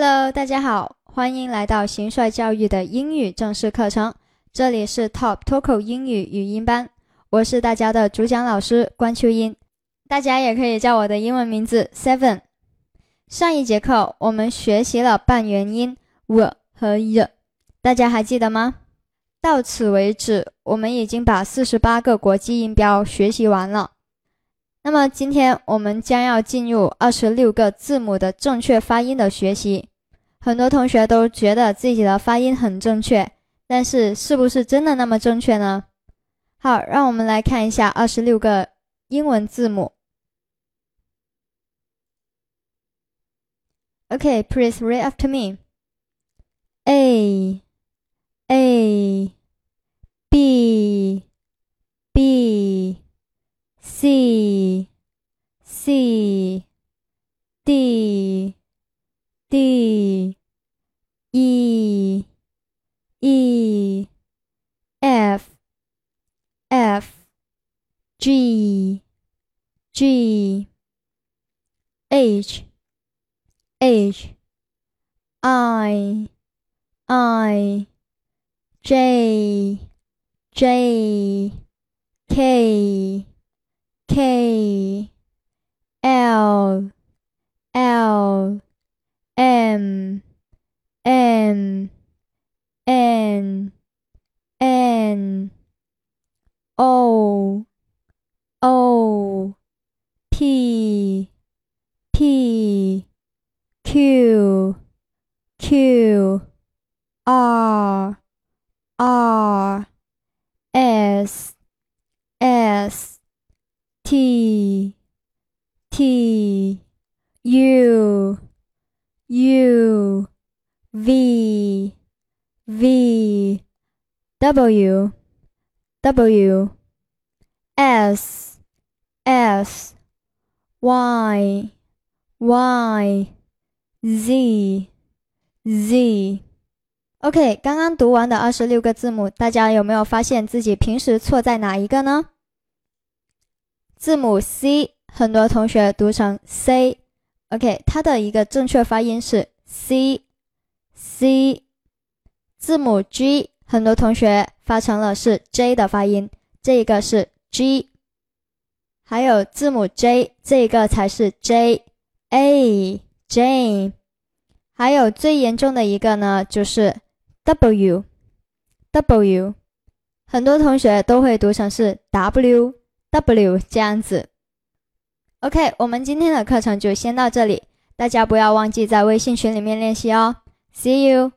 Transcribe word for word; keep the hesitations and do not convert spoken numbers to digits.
Hello， 大家好，欢迎来到行帅教育的英语正式课程，这里是 Top Toco 英语语音班，我是大家的主讲老师关秋英，大家也可以叫我的英文名字 Seven。上一节课我们学习了半元音 w 和 y， 大家还记得吗？到此为止，我们已经把四十八个国际音标学习完了。那么今天我们将要进入二十六个字母的正确发音的学习。很多同学都觉得自己的发音很正确，但是是不是真的那么正确呢？好，让我们来看一下二十六个英文字母。Okay, please read after me. A, A, B, B, C, C, D, D, E, E, F, F, G, G, H, H, I, I, J, J, K, K, L, L, M, M, N, N, O, O, P, P, Q, Q, R, R, S, S, T, T, U, U, V, V, W, W, S, S, Y, Y, Z, Z。 OK， 刚刚读完的二十六个字母，大家有没有发现自己平时错在哪一个呢？字母 C， 很多同学读成 C， OK， 它的一个正确发音是 C， C。 字母 G， 很多同学发成了是 J 的发音，这个是 G。 还有字母 J， 这个才是 J， A J。 还有最严重的一个呢，就是 W W， 很多同学都会读成是 W W 这样子。 OK， 我们今天的课程就先到这里，大家不要忘记在微信群里面练习哦。 See you。